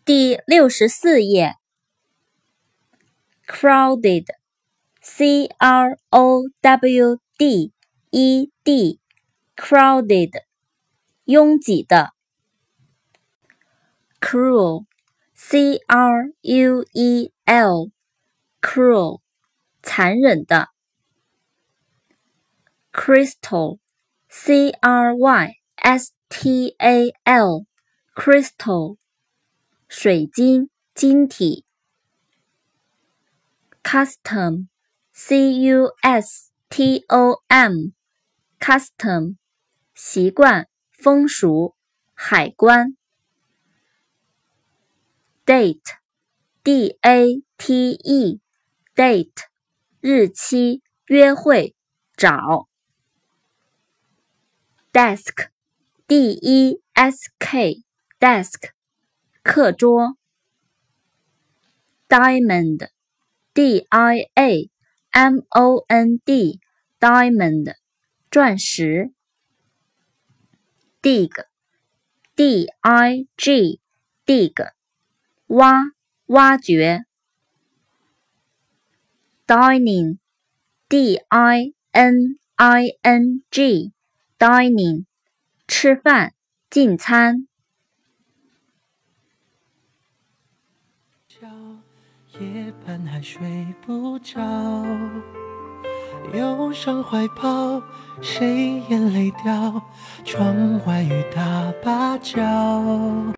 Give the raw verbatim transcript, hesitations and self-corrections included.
第六十四页 crowded C R O W D E D crowded 拥挤的 cruel C R U E L cruel 残忍的 crystal C R Y S T A L crystal 水晶晶体 custom C U S T O M custom 习惯风俗海关 date D A T E date 日期约会找 desk D E S K desk 课桌 diamond D I A M O N D diamond 钻石 dig D I G dig 挖挖掘 dining D I N I N G dining 吃饭进餐夜半还睡不着，忧伤怀抱，谁眼泪掉？窗外雨打芭蕉。